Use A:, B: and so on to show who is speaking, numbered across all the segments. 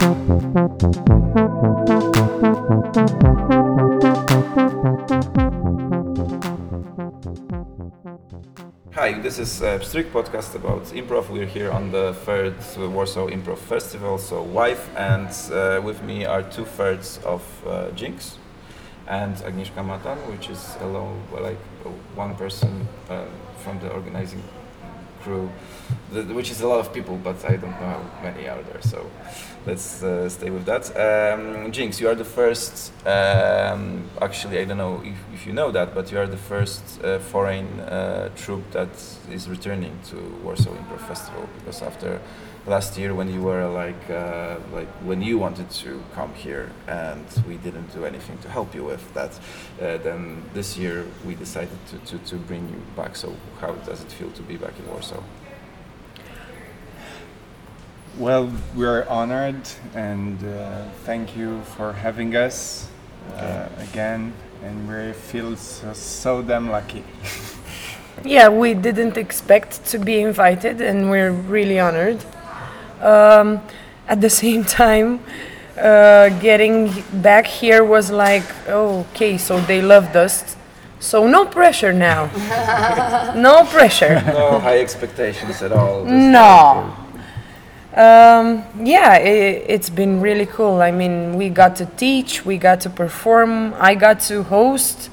A: Hi, this is Pstryk podcast about improv. We're here on the third Warsaw Improv Festival, so wife, and with me are 2/3 of Jinx and Agnieszka Matan, which is alone, one person from the organizing crew, which is a lot of people, but I don't know how many are there, so let's stay with that. Jinx, you are the first, actually I don't know if you know that, but you are the first foreign troupe that is returning to Warsaw Improv Festival, because after last year when you were when you wanted to come here and we didn't do anything to help you with that, then this year we decided to bring you back. So how does it feel to be back in Warsaw?
B: Well, we're honored and thank you for having us again, and we feel so damn lucky.
C: Yeah, we didn't expect to be invited and we're really honored. At the same time, getting back here was like, oh, okay, so they loved us. So no pressure now. No pressure.
A: No high expectations at all.
C: No. It's been really cool. I mean, we got to teach, we got to perform, I got to host.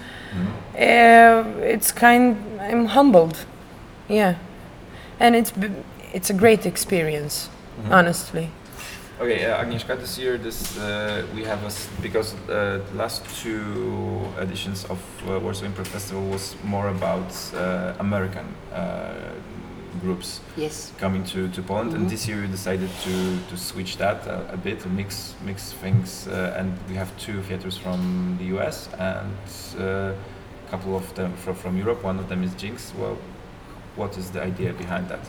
C: I'm humbled. Yeah. And it's a great experience, honestly.
A: Okay, Agnieszka, this year we have because the last two editions of Warsaw Improv Festival was more about American groups coming to Poland, and this year we decided to switch that a bit, to mix things, and we have 2 theaters from the US and a couple of them from Europe. One of them is Jinx. Well, what is the idea behind that?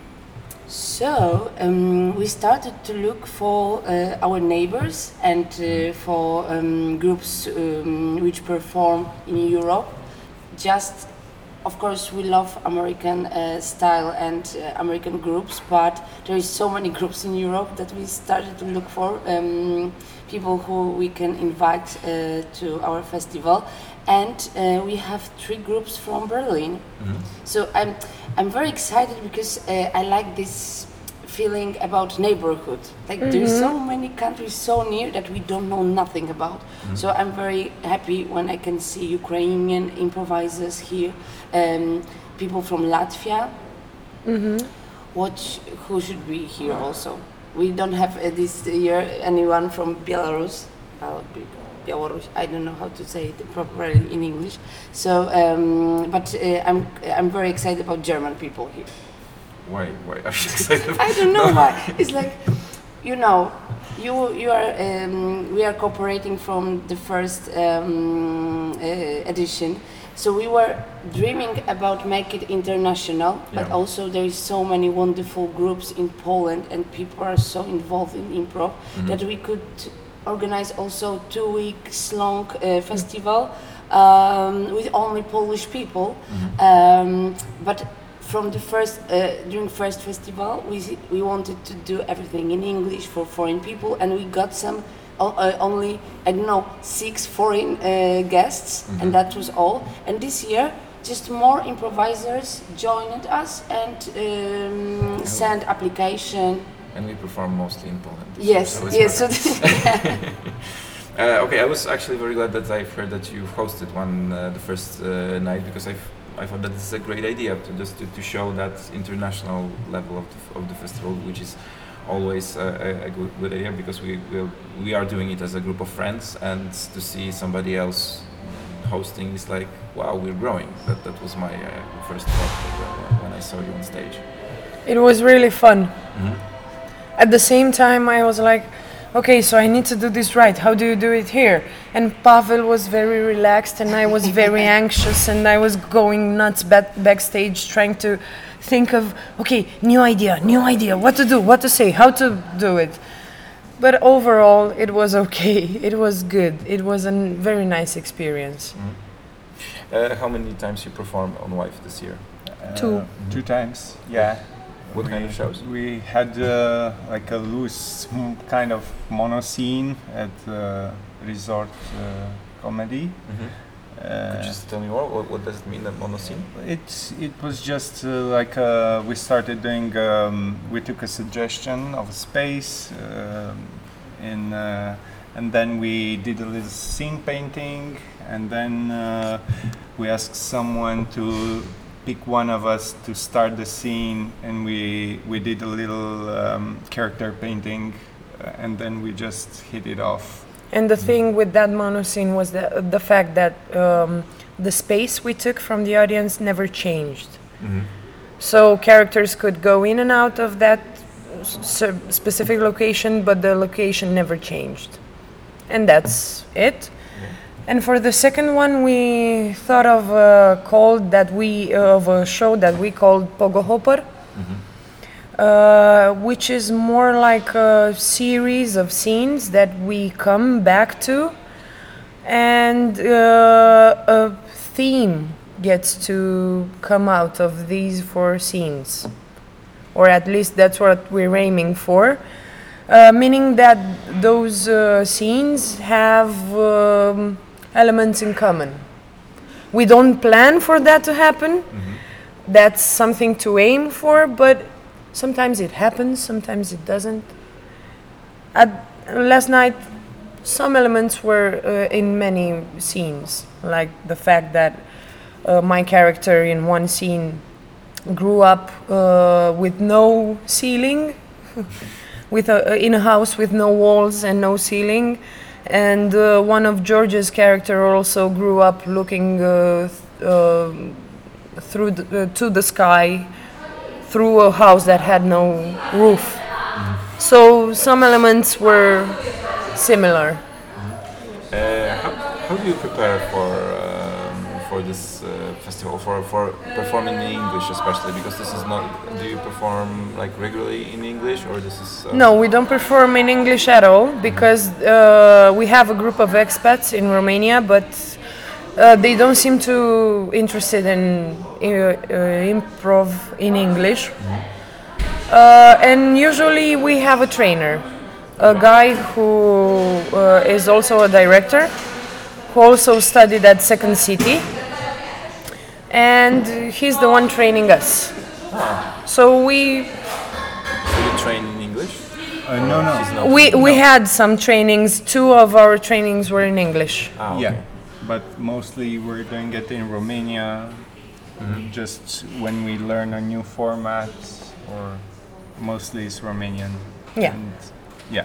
D: So we started to look for our neighbors and for groups which perform in Europe. Just, of course, we love American style and American groups, but there is so many groups in Europe that we started to look for people who we can invite to our festival. And we have 3 groups from Berlin. Mm-hmm. So I'm very excited because I like this feeling about neighborhood. Like there's so many countries so near that we don't know nothing about. Mm-hmm. So I'm very happy when I can see Ukrainian improvisers here, people from Latvia, who should be here also. We don't have this year anyone from Belarus. I don't know how to say it properly in English. So, I'm very excited about German people here.
A: Why are you excited?
D: I don't know why. It's like, we are cooperating from the first edition. So we were dreaming about make it international, but also there is so many wonderful groups in Poland and people are so involved in improv that we could organize also 2 weeks long festival with only Polish people. But from the during first festival, we wanted to do everything in English for foreign people, and we got some only 6 foreign guests, and that was all. And this year, just more improvisers joined us and sent application.
A: And we perform mostly in Poland.
D: Yes.
A: Okay, I was actually very glad that I've heard that you hosted the first night, because I thought that this is a great idea to show that international level of the festival, which is always a good idea, because we are doing it as a group of friends, and to see somebody else hosting is like, wow, we're growing. That was my first thought when I saw you on stage.
C: It was really fun. At the same time, I was like, okay, so I need to do this right. How do you do it here? And Pavel was very relaxed and I was very anxious and I was going nuts backstage trying to think of, okay, new idea, what to do, what to say, how to do it. But overall, it was okay. It was good. It was a very nice experience.
A: How many times you performed on Wife this year?
C: 2.
B: 2 times, yeah.
A: What kind of shows?
B: We had like a loose kind of mono scene at Resort Comedy.
A: Could you just tell me more? What does it mean, that mono scene?
B: It was just like we started doing. We took a suggestion of a space, and then we did a little scene painting, and then we asked someone to pick one of us to start the scene, and we did a little character painting, and then we just hit it off.
C: And the thing with that mono scene was the fact that the space we took from the audience never changed. So characters could go in and out of that specific location, but the location never changed. And that's it. And for the second one, we thought of a show that we called Pogo Hopper, which is more like a series of scenes that we come back to, and a theme gets to come out of these 4 scenes, or at least that's what we're aiming for. Meaning that those scenes have elements in common. We don't plan for that to happen. That's something to aim for, but sometimes it happens, sometimes it doesn't. Last night, some elements were in many scenes, like the fact that my character in one scene grew up with no ceiling, in a house with no walls and no ceiling, and one of George's character also grew up looking to the sky through a house that had no roof. So some elements were similar.
A: How do you prepare for this festival, for performing in English especially, because this is not, do you perform like regularly in English, or this is
C: No, we don't perform in English at all, because we have a group of expats in Romania, but they don't seem too interested in improv in English. And usually we have a trainer, a guy who is also a director, who also studied at Second City, and he's the one training us. So we
A: So you train in English?
B: No.
C: we had some trainings. 2 of our trainings were in English.
A: Okay.
B: Yeah, but mostly we're doing it in Romania, just when we learn a new format, or mostly it's Romanian.
C: Yeah.
B: And, yeah.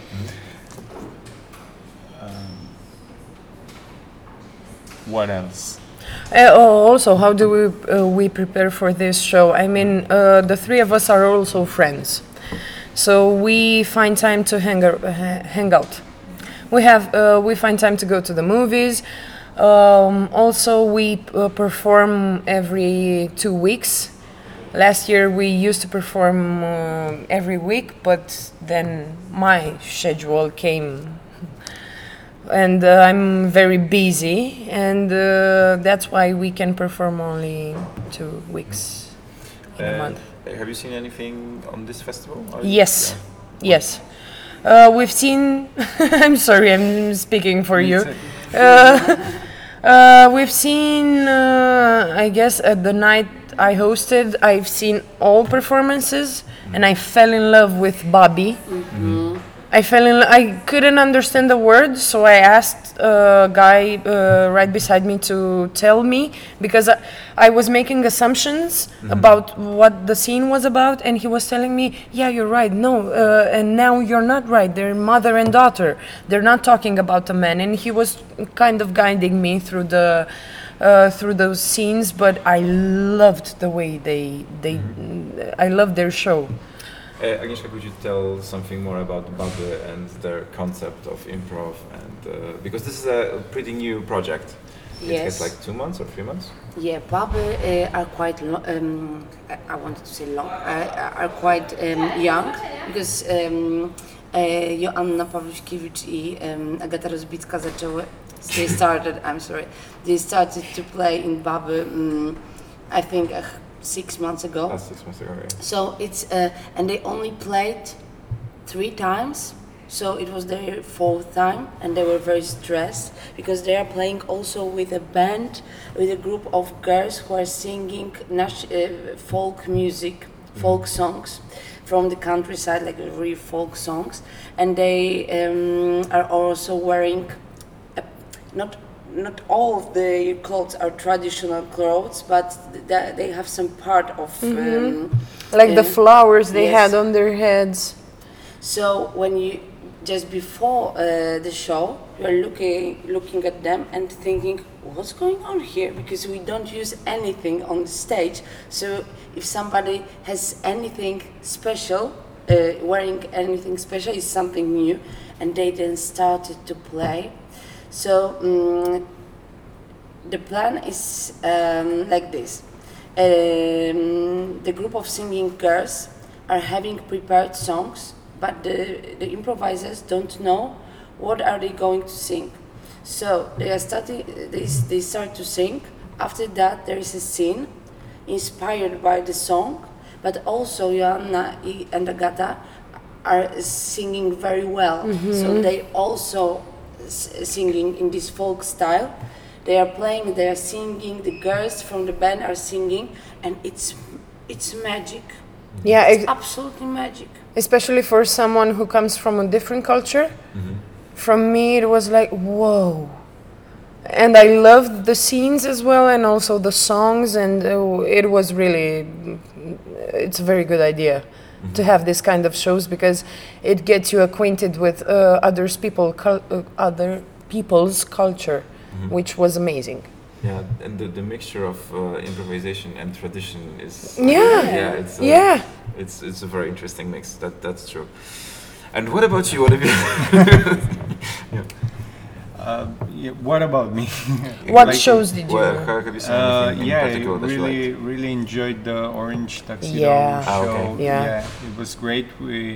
B: What else?
C: Also, how do we prepare for this show? I mean, the 3 of us are also friends, so we find time to hang out. We find time to go to the movies. Also, we perform every 2 weeks. Last year we used to perform every week, but then my schedule came, and I'm very busy, and that's why we can perform only 2 weeks in a month.
A: Have you seen anything on this festival?
C: Yes, yes. We've seen. I'm sorry, I'm speaking for you. We've seen. I guess at the night I hosted, I've seen all performances, and I fell in love with Bobby. I couldn't understand the words, so I asked a guy right beside me to tell me, because I was making assumptions about what the scene was about, and he was telling me, yeah, you're right, no, and now you're not right, they're mother and daughter, they're not talking about a man, and he was kind of guiding me through those scenes, but I loved the way I loved their show.
A: Agnieszka, could you tell something more about Baby and their concept of improv, and because this is a pretty new project?
D: Yes.
A: It's like 2 months or 3 months?
D: Yeah, Baby are quite I wanted to say long. Are quite young, because Joanna Pawluśkiewicz i Agata Rozbicka they started to play in Baby. I think 6 months ago.
A: Last 6 months ago. Yeah.
D: So it's and they only played 3 times. So it was their 4th time, and they were very stressed because they are playing also with a band, with a group of girls who are singing folk music, folk songs from the countryside, like real folk songs, and they are also wearing not all of the clothes are traditional clothes, but they have some part of
C: Like the flowers they
D: yes.
C: had on their heads.
D: So when you just before the show, you are looking at them and thinking, what's going on here? Because we don't use anything on the stage. So if somebody has anything special, wearing anything special, is something new, and they then started to play. So the plan is like this. The group of singing girls are having prepared songs, but the improvisers don't know what are they going to sing. So they start to sing. After that, there is a scene inspired by the song, but also Joanna and Agata are singing very well. So they also singing in this folk style. They are playing, they are singing, the girls from the band are singing, and it's magic.
C: Yeah,
D: It's absolutely magic.
C: especially for someone who comes from a different culture. From me, it was like, whoa. And I loved the scenes as well, and also the songs, and it was really, it's a very good idea to have this kind of shows, because it gets you acquainted with other people's culture, which was amazing.
A: Yeah, and the mixture of improvisation and tradition is
C: Yeah.
A: it's a very interesting mix. That's true. And what about you? What have you?
B: What about me?
C: What
B: Like,
C: shows did you
A: Well,
C: do?
A: have you seen anything in
B: Yeah, I
A: particular that you liked?
B: really enjoyed the Orange Tuxedo
C: Yeah.
B: show.
A: Okay.
C: Yeah.
B: It was great. We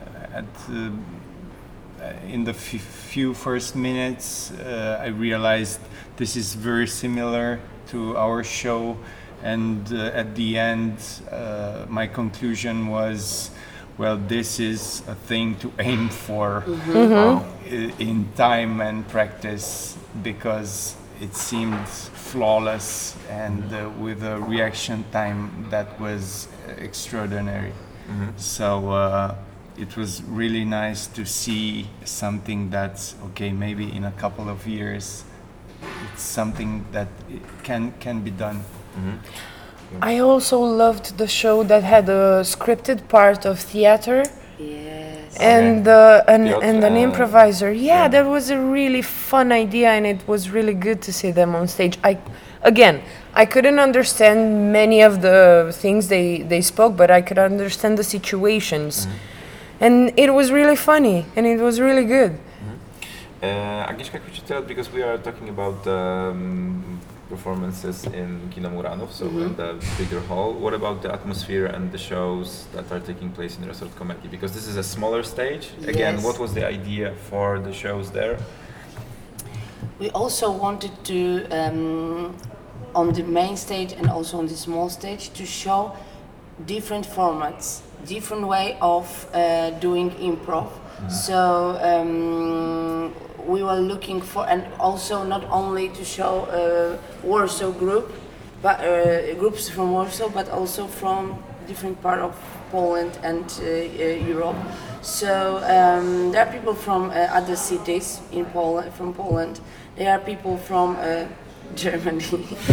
B: in the few first minutes, I realized this is very similar to our show, and at the end, my conclusion was, well, this is a thing to aim for in time and practice, because it seemed flawless, and with a reaction time that was extraordinary. So it was really nice to see something that's okay, maybe in a couple of years it's something that can be done.
C: I also loved the show that had a scripted part of theater.
D: Yes.
C: And and an improviser. Yeah, that was a really fun idea, and it was really good to see them on stage. I couldn't understand many of the things they spoke, but I could understand the situations, and it was really funny, and it was really good.
A: Agnieszka, could you tell, because we are talking about performances in Kino Muranów, so in the bigger hall, what about the atmosphere and the shows that are taking place in Resort Comedy? Because this is a smaller stage. Again,
D: Yes.
A: what was the idea for the shows there?
D: We also wanted to, on the main stage and also on the small stage, to show different formats, different way of doing improv. So we were looking for, and also not only to show Warsaw group, but groups from Warsaw, but also from different part of Poland and Europe. So there are people from other cities in Poland, from Poland. There are people from Germany.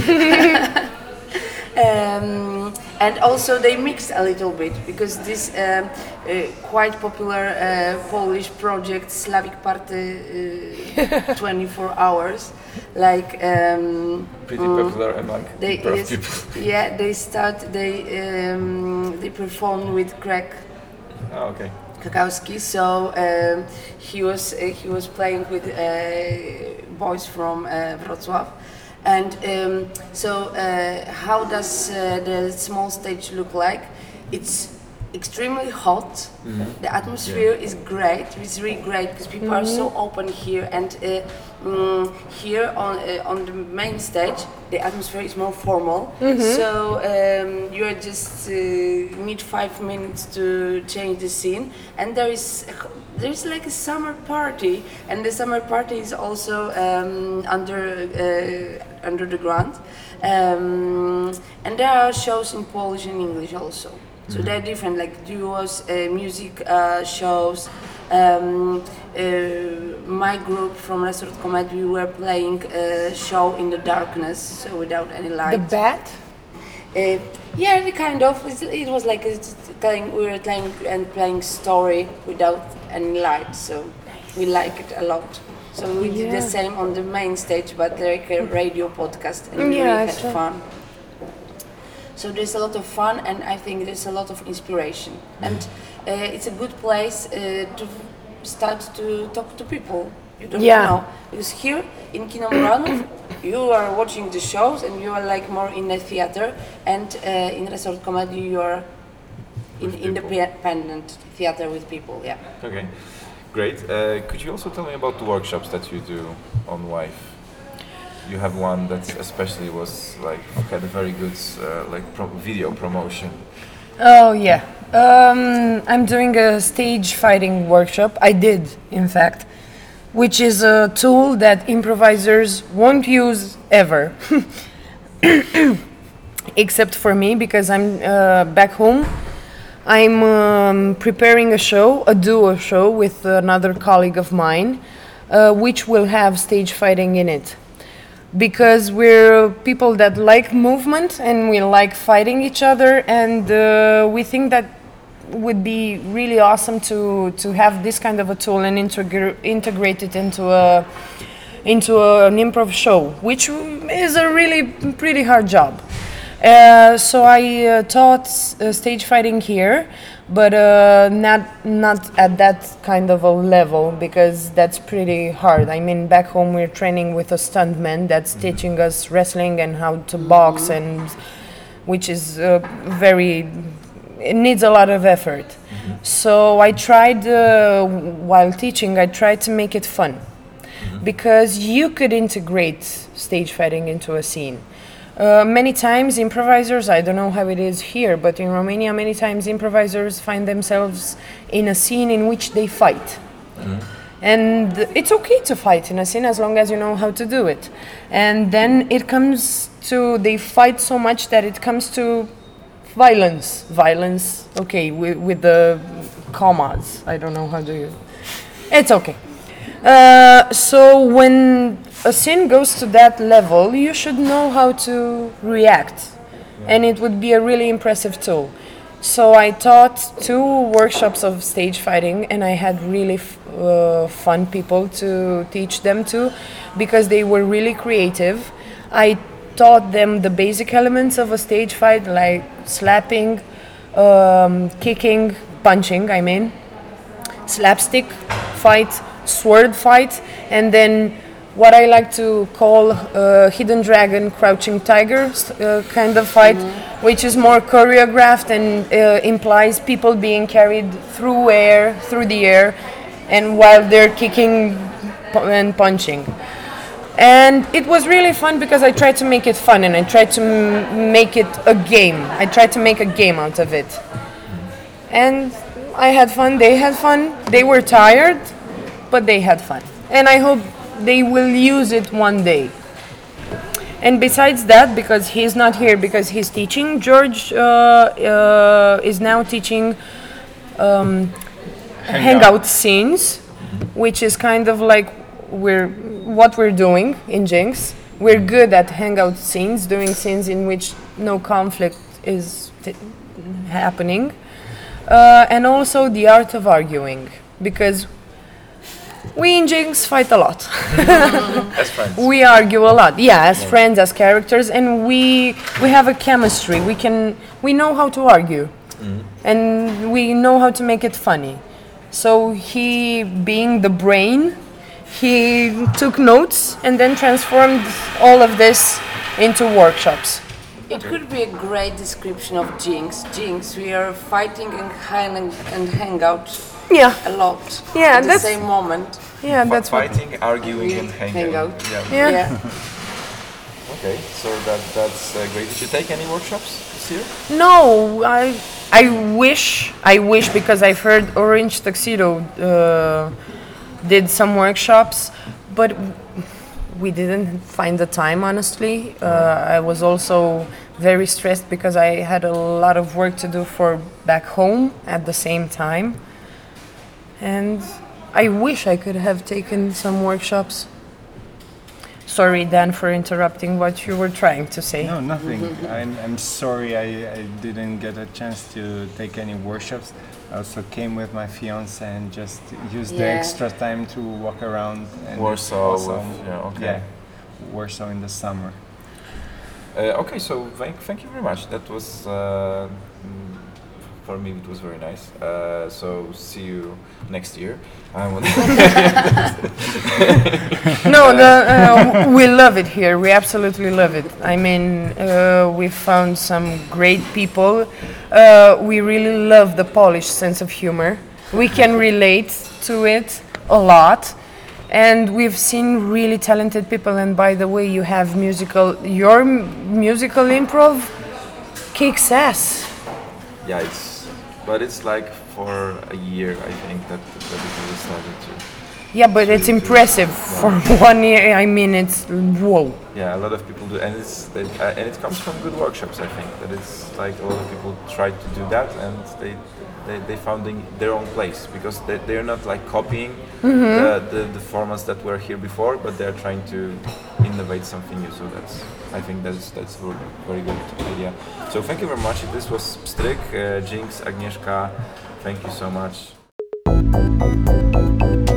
D: And also they mixed a little bit, because this quite popular Polish project Slavic Party 24 hours, like
A: Pretty popular among improv people.
D: yeah, they performed with Craig
A: Oh, okay.
D: Kakowski. So he was playing with boys from Wrocław. And so how does the small stage look like? It's extremely hot. The atmosphere is great. It's really great because people are so open here, and here on the main stage, the atmosphere is more formal. So you are just need 5 minutes to change the scene, and there's like a summer party, and the summer party is also under the ground, and there are shows in Polish and English also. So they're different, like duos, music shows. My group from Resort Comedy, we were playing a show in the darkness, so without any light.
C: The bat?
D: Yeah, the kind of. It was like we were playing story without any light, so we like it a lot. So we did the same on the main stage, but like a radio podcast, and we really had fun. So there's a lot of fun, and I think there's a lot of inspiration, and it's a good place to start to talk to people. You don't know, because here in Kino Muranów, you are watching the shows and you are like more in the theater, and in Resort Comedy you are in independent theater with people. Yeah.
A: Okay, great. Could you also tell me about the workshops that you do on Wife? You have one that especially was like had a very good video promotion.
C: Oh yeah, I'm doing a stage fighting workshop. I did, in fact, which is a tool that improvisers won't use ever, except for me, because I'm back home. I'm preparing a duo show with another colleague of mine, which will have stage fighting in it. Because we're people that like movement and we like fighting each other, and we think that would be really awesome to have this kind of a tool and integrate it into an improv show, which is a really pretty hard job. So I taught stage fighting here, but not at that kind of a level, because that's pretty hard. I mean, back home we're training with a stuntman that's teaching us wrestling and how to box, and which is it needs a lot of effort. So I tried, while teaching, I tried to make it fun, because you could integrate stage fighting into a scene. Many times improvisers, I don't know how it is here, but in Romania many times improvisers find themselves in a scene in which they fight. And it's okay to fight in a scene as long as you know how to do it. And then they fight so much that it comes to violence, okay, with the commas. I don't know how do you... It's okay. So when a scene goes to that level, you should know how to react, and it would be a really impressive tool. So I taught 2 workshops of stage fighting, and I had really fun people to teach them to, because they were really creative. I taught them the basic elements of a stage fight, like slapping, kicking, punching, slapstick fight, sword fight, and then what I like to call hidden dragon, crouching tiger kind of fight, which is more choreographed and implies people being carried through the air, and while they're kicking and punching. And it was really fun because I tried to make it fun, and I tried to make it a game. I tried to make a game out of it. And I had fun, they had fun, they were tired, but they had fun. And I hope they will use it one day. And besides that, because he's not here because he's teaching, George is now teaching hangout scenes, which is kind of like what we're doing in Jinx. We're good at hangout scenes, doing scenes in which no conflict is happening. And also the art of arguing, because we in Jinx fight a lot.
A: As friends.
C: We argue a lot, as friends, as characters, and we have a chemistry. We know how to argue, and we know how to make it funny. So he, being the brain, he took notes and then transformed all of this into workshops.
D: It could be a great description of Jinx. Jinx, we are fighting and hang out
C: Yeah,
D: a lot
C: Yeah,
D: at the
C: that's-
D: same moment.
C: yeah, that's what.
A: Fighting, arguing, and hanging
D: hang out.
A: Yeah.
C: Yeah.
A: Okay, so that's great. Did you take any workshops this year?
C: No, I wish because I've heard Orange Tuxedo did some workshops, but we didn't find the time, honestly. I was also very stressed because I had a lot of work to do for back home at the same time. And I wish I could have taken some workshops. Sorry, Dan, for interrupting what you were trying to say.
B: No, nothing. I'm sorry I didn't get a chance to take any workshops. I also came with my fiance and just used the
D: Yeah.
B: extra time to walk around. And it's
A: Warsaw.
B: awesome.
A: Okay.
B: Yeah, Warsaw in the summer.
A: Okay, so thank you very much. That was for me. It was very nice. So see you next year.
C: No, we love it here. We absolutely love it. I mean, we found some great people. We really love the Polish sense of humor. We can relate to it a lot. And we've seen really talented people. And by the way, you have your musical improv kicks ass.
A: Yeah, but it's like for a year, I think that it really started to.
C: Yeah, but it's impressive for 1 year. I mean, it's whoa.
A: Yeah, a lot of people do, and it comes from good workshops. I think that it's like a lot of people try to do that, and they found their own place because they're not like copying the formats that were here before, but they're trying to innovate something new. So I think that's very good idea. So thank you very much. This was Pstryk, Jinx, Agnieszka. Thank you so much.